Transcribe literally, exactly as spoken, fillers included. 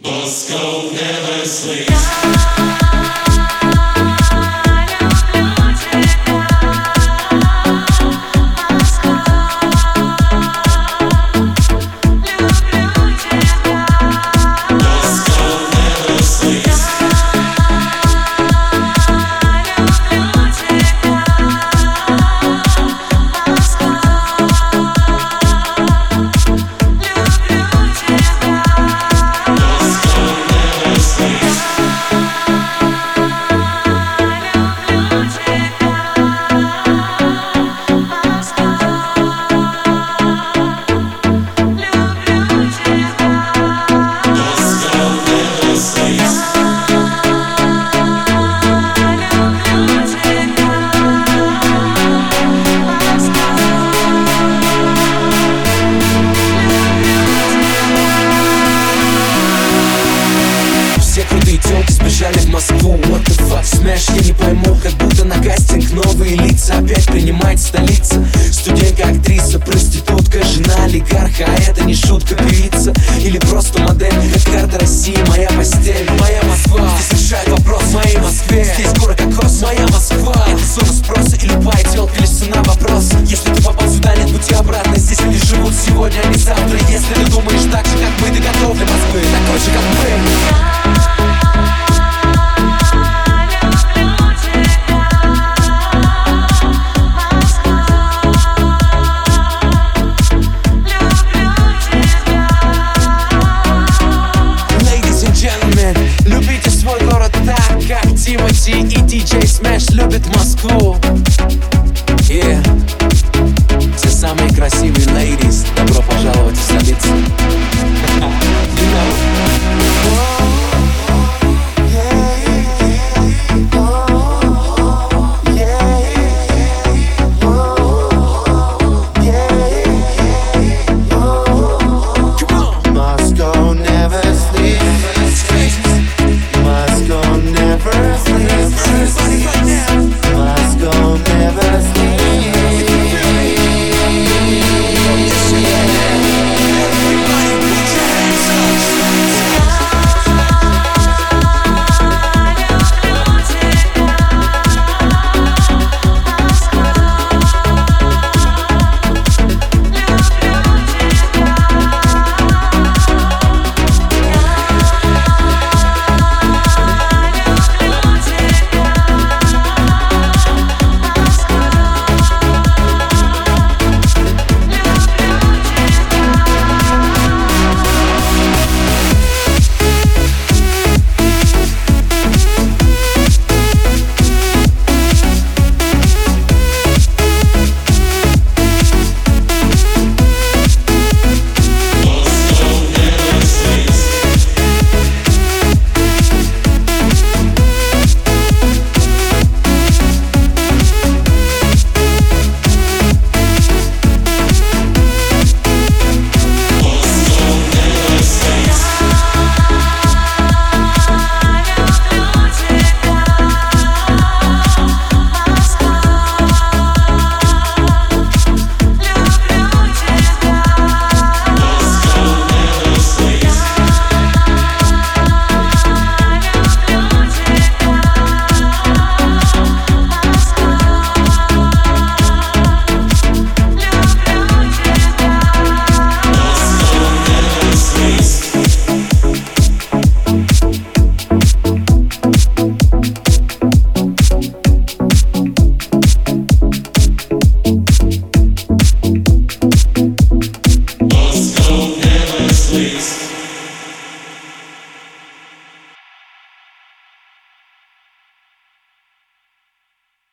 Moscow never sleeps. Сбежали в Москву, what the fuck, smash, я не пойму, как будто на кастинг новые лица опять принимает столица. Студентка, актриса, проститутка, жена олигарха, а это не шутка, певица или просто модель. Как карта России, моя постель, моя Москва. Здесь решает вопрос в моей Москве. Здесь город кокос, моя Москва. Это зона спроса и любая телка лишь цена вопроса. Если ты попал сюда, нет пути обратно. Здесь люди живут сегодня, а не завтра. Если ты думаешь так же, как мы, ты готов для Москвы, такой же, как мы.